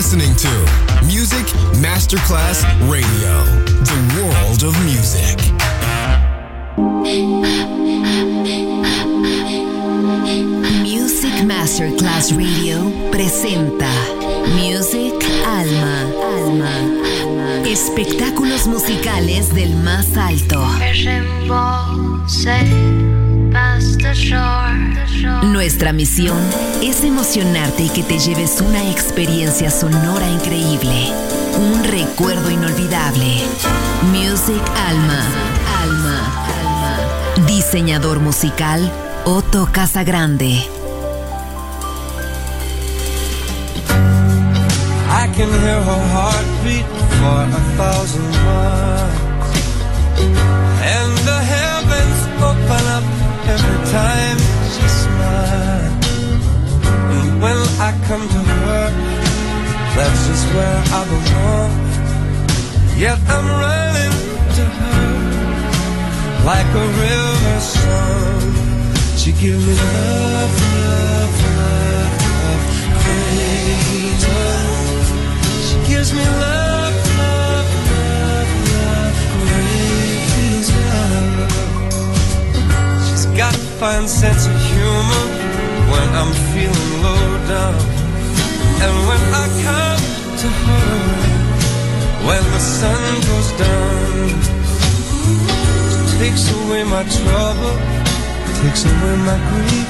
listening to Music Masterclass Radio, the world of music. Music Masterclass Radio presenta Music Alma. Espectáculos musicales del más alto. Nuestra misión es emocionarte y que te lleves una experiencia sonora increíble, un recuerdo inolvidable. Music Alma. Diseñador musical Otto Casagrande. I can hear her heartbeat for 1,000 miles, and the heavens open up every time she smiles. And when I come to her, that's just where I belong. Yet I'm running to her like a river song. She gives me love, great love. She gives me love, great love. She's got a fine sense of humor when I'm feeling low down. And when I come to her, when the sun goes down, she takes away my trouble, takes away my grief,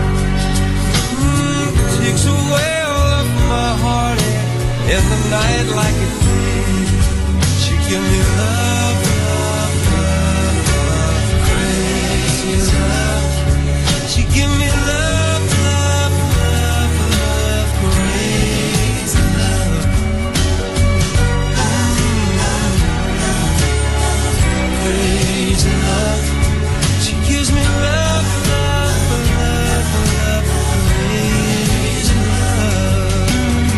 takes away all of my heartache in the night like a thief. She give me love, crazy love. She give me love, crazy love. Crazy love. She gives me love, crazy love.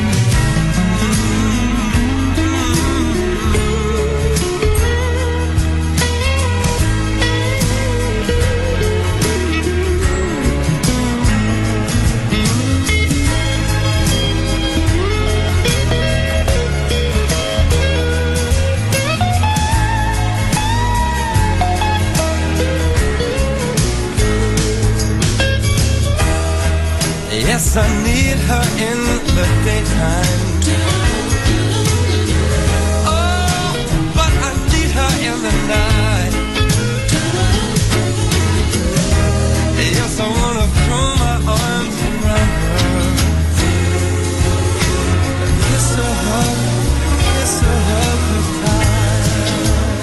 Yes, I need her in the daytime. Oh, but I need her in the night. Yes, I wanna throw my arms around her, kiss her hug tight.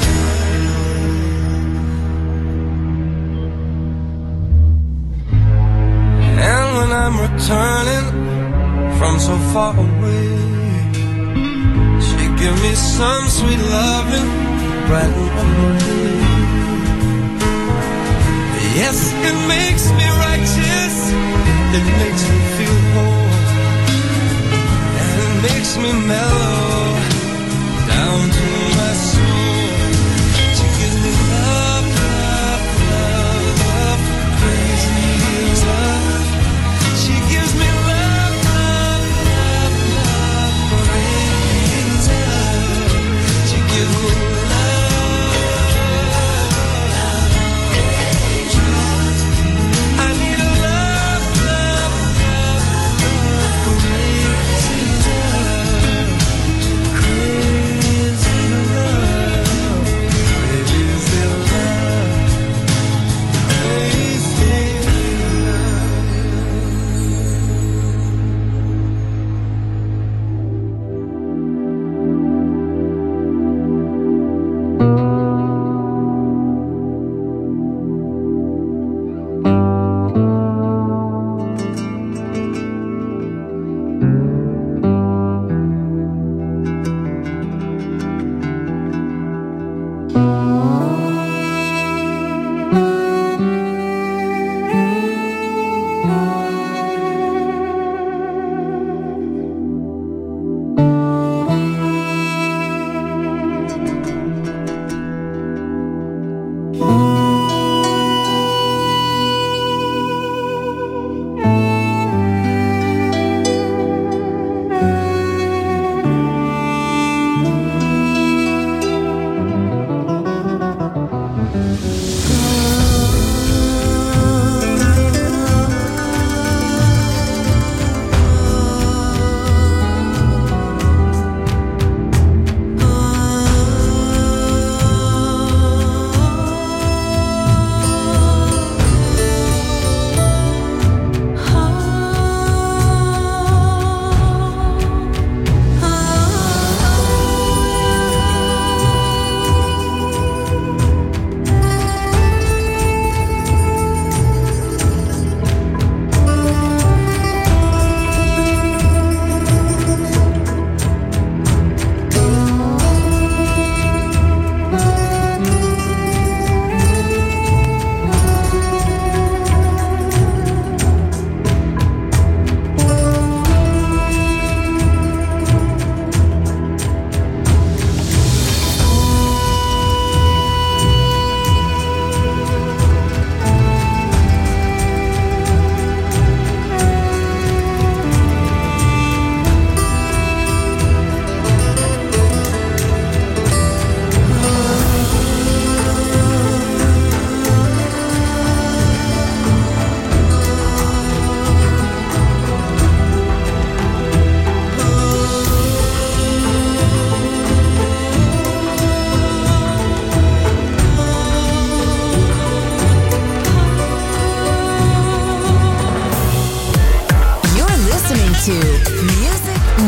And when I'm returning from so far away, she give me some sweet loving, brighten up my day. Yes, it makes me righteous, it makes me feel whole, and it makes me mellow down to my soul. She gives me love, crazy love. She gives me love, crazy love. She gives me love. I need a love, crazy love, crazy love.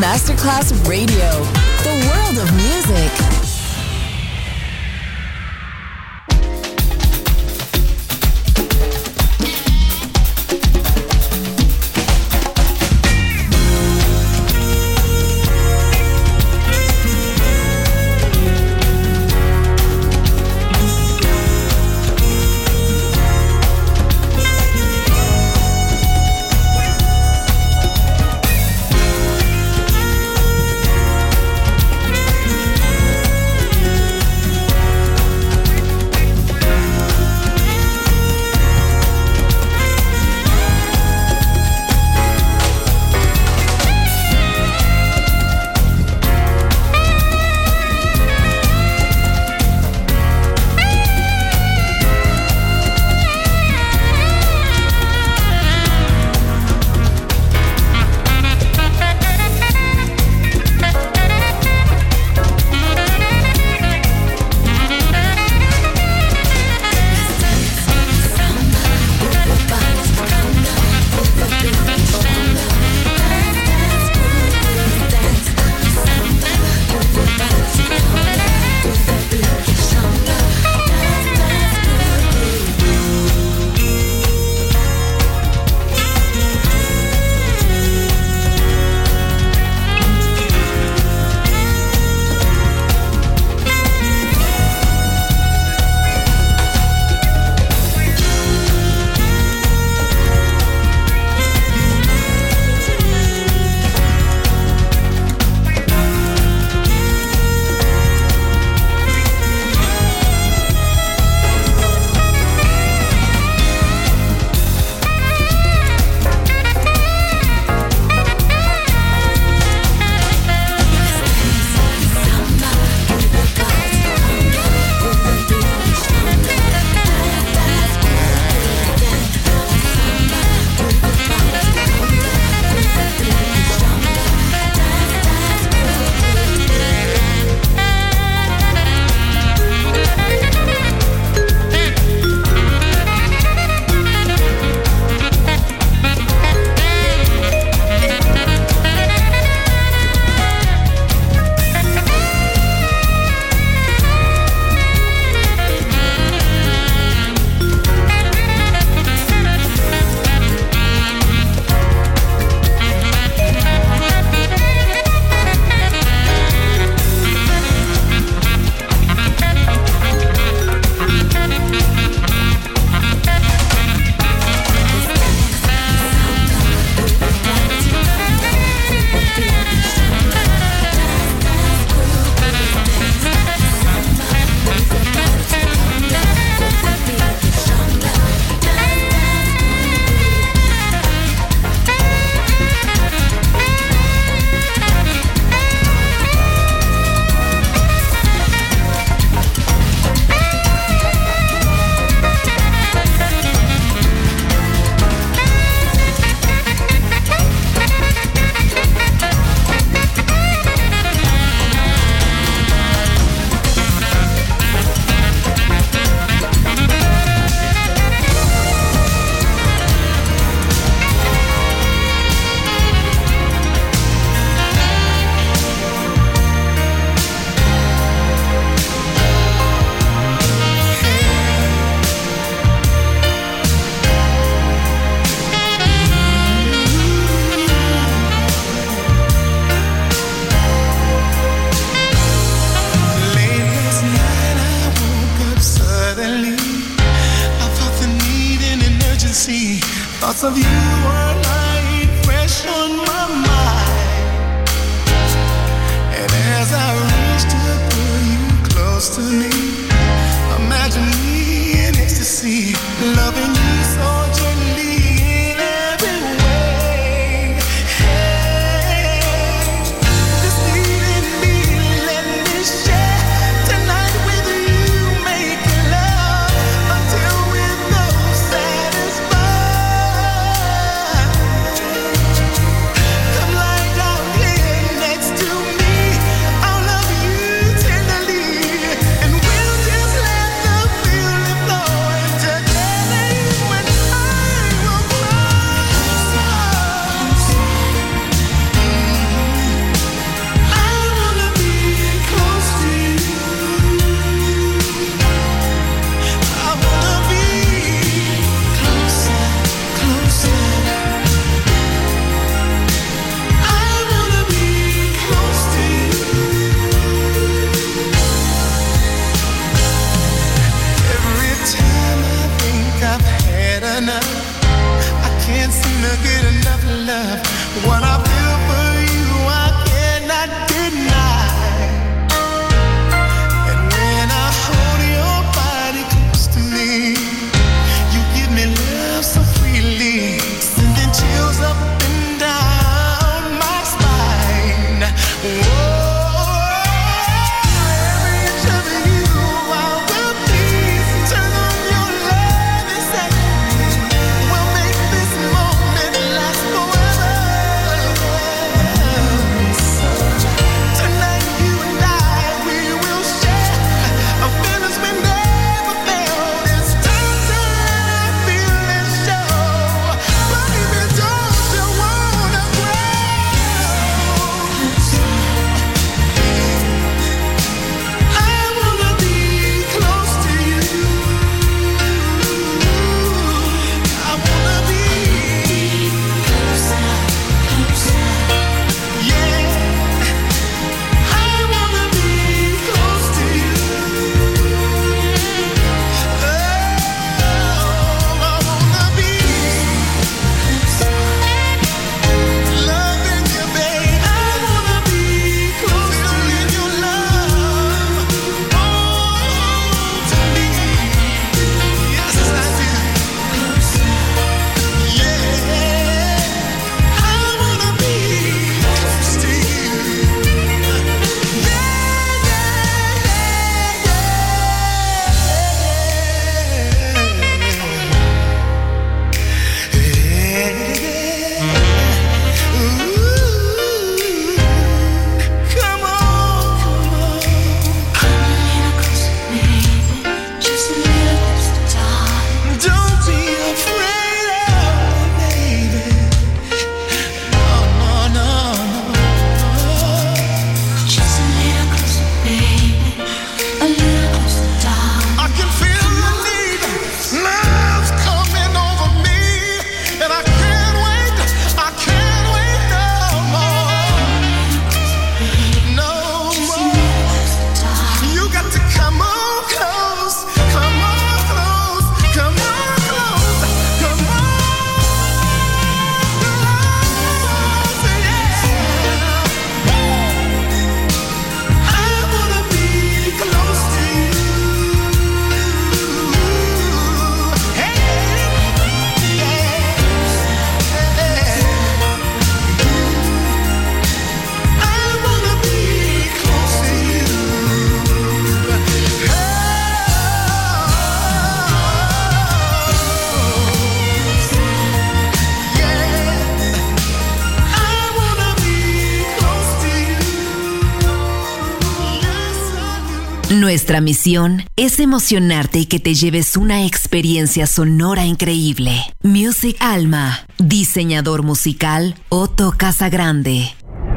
Masterclass Radio, the world of music. Thoughts of you are lying fresh on my mind. And as I reach to pull you close to me, imagine me in ecstasy, loving you so gently in every way. Hey, just leading me, let me share tonight with you, making love until we're both satisfied. Nuestra misión es emocionarte y que te lleves una experiencia sonora increíble. Music Alma, diseñador musical Otto Casagrande.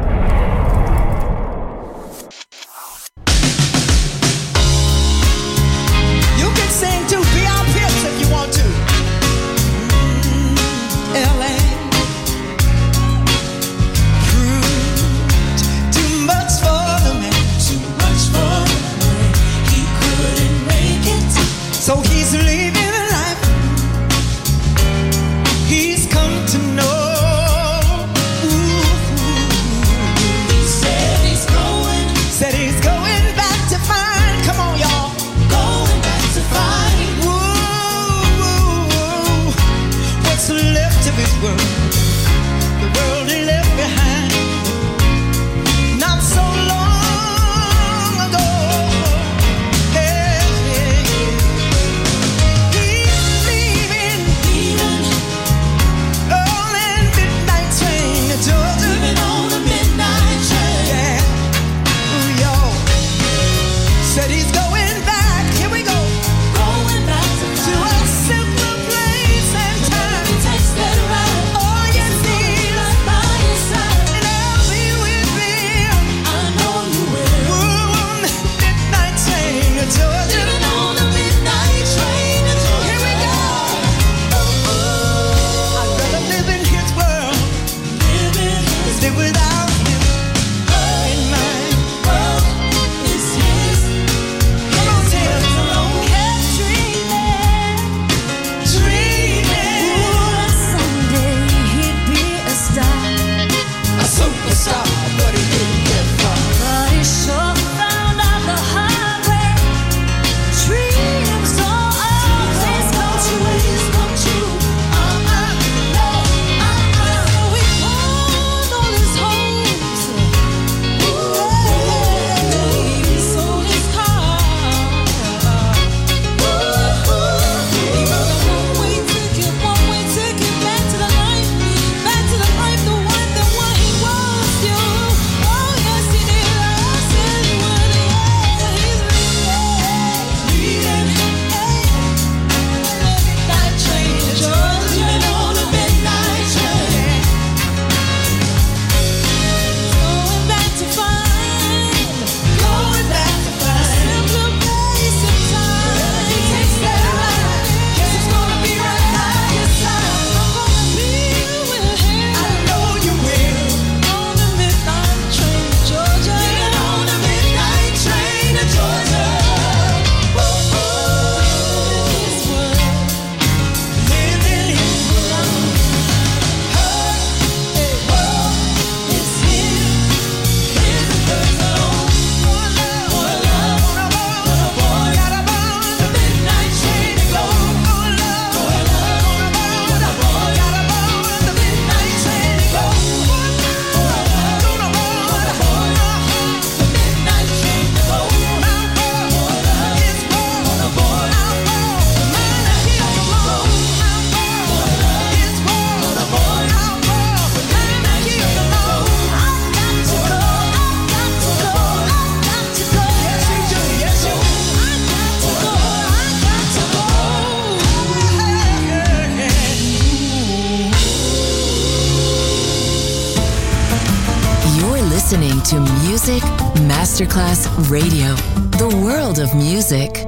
So he's living a life he's come to know. Ooh. He said he's going back to find. Come on, y'all. Going back to find. Ooh. What's left of his world? The world he left behind. Not so long ago. Said he's going back, here we go. Going back to a simpler place and time. He takes that ride. Oh, yes, he's right by his side. And I'll be with me. I know you will. Ooh, midnight train to Georgia. Living on the midnight train to Georgia. Here we go. I'd rather live in his world. Live without him in my world. Superstar, but he didn't get far. But he sure found out the hard way. Dreams don't always come true. No. We pawned all his hopes. He sold his car. He wrote a one-way ticket back to the life, the one he was. You, oh yes he did. I said he would. He's leaving. Midnight train to Georgia. Living on a midnight train. Going back to find. Simpler place and time. He takes that ride. Guess he's gonna be right by his side. I'm gonna be with him. I know you will. On the midnight train to Georgia. Living on the midnight train to Georgia. His world. Living his world. Her world is him. His personal. One love. Got aboard the midnight train to go. Got aboard the midnight train to go. You're listening to Music Masterclass Radio, the world of music.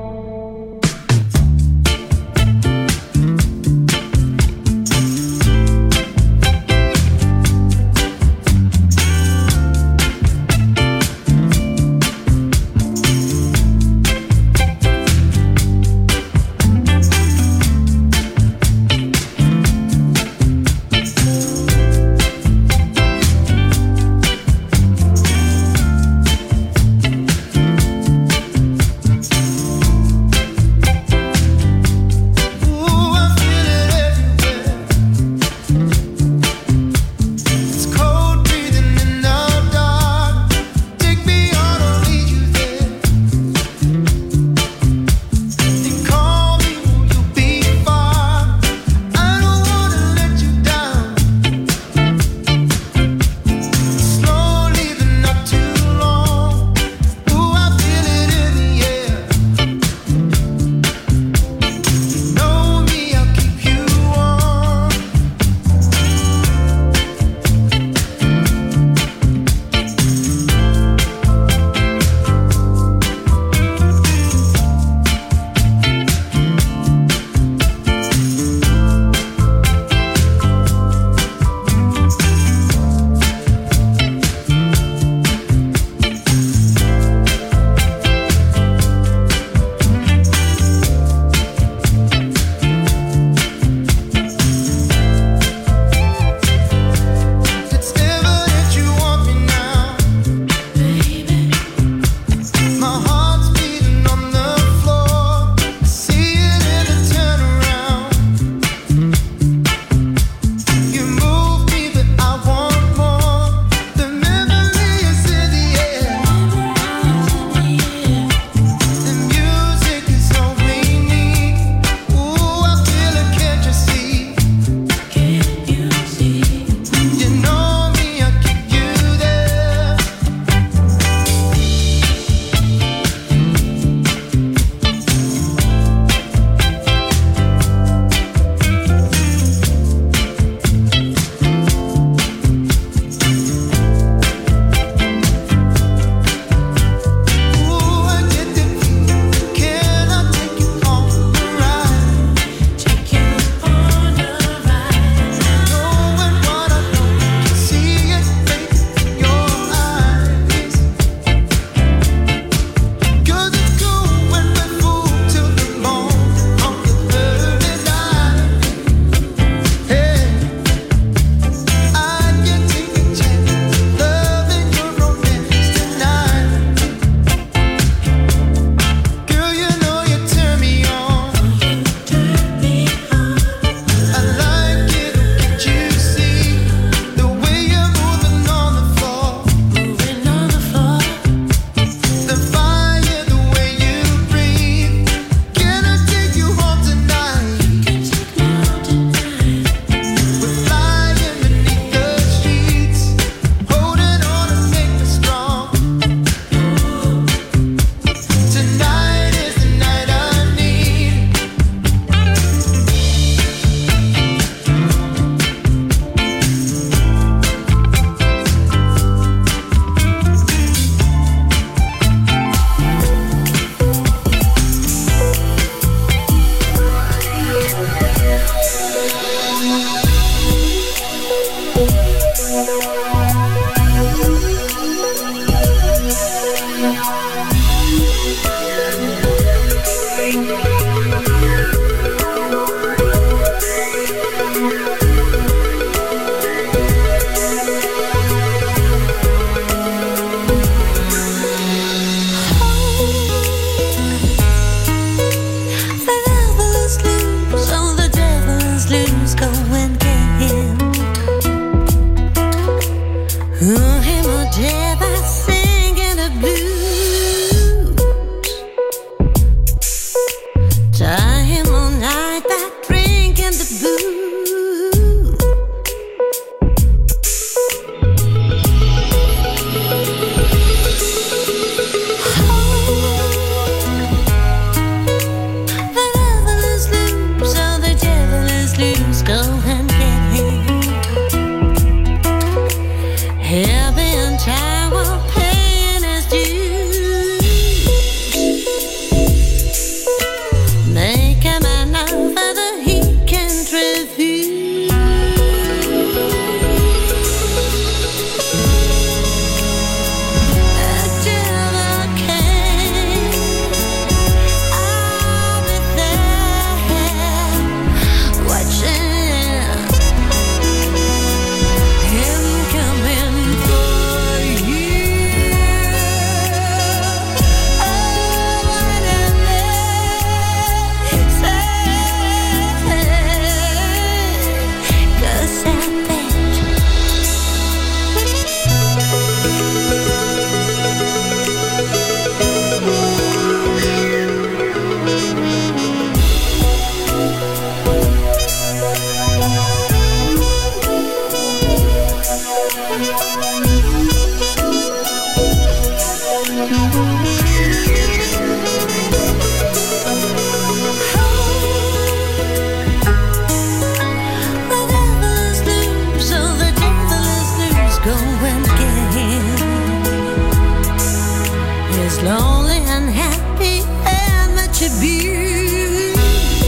lonely, unhappy, and much abused.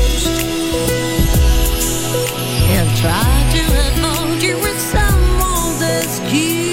He'll try to hold you with someone's excuse.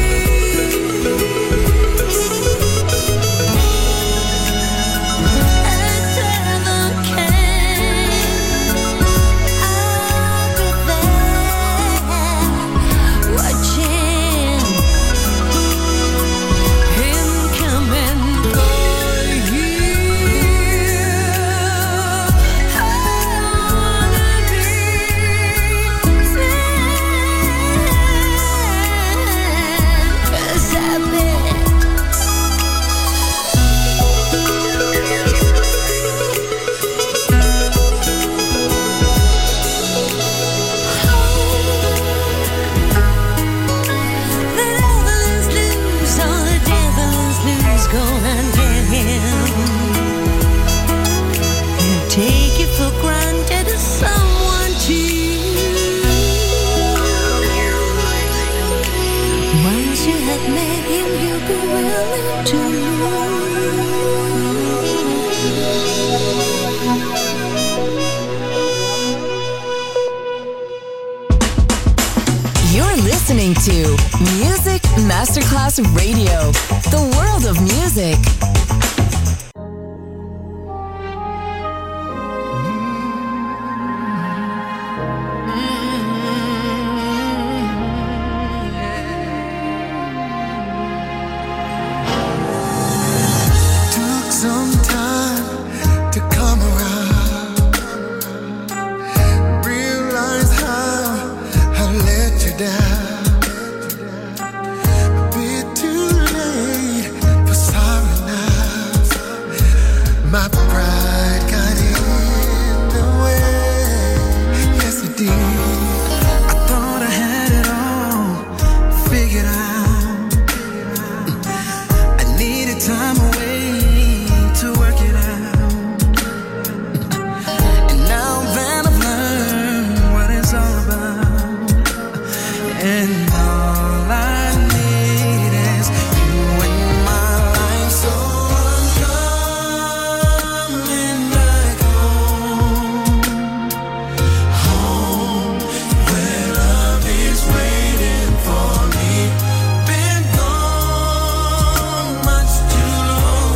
Take you for granted as someone to you. Once you have met him, you'll be willing to You're listening to Music Masterclass Radio, the world of music. Some time to come around, realize how I let you down. A bit too late for sorry now. My pride got in the way. Yes, it did. I thought I had it all figured out. I needed time away to work it out. And now that I've learned what it's all about, and all I need is you in my life, so I'm coming back home, home where love is waiting for me. Been gone much too long.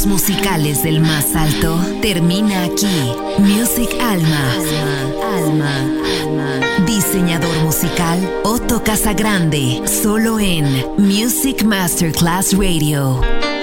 sueños musicales del más alto termina aquí. Music Alma. Diseñador musical Otto Casagrande, solo en Music Masterclass Radio.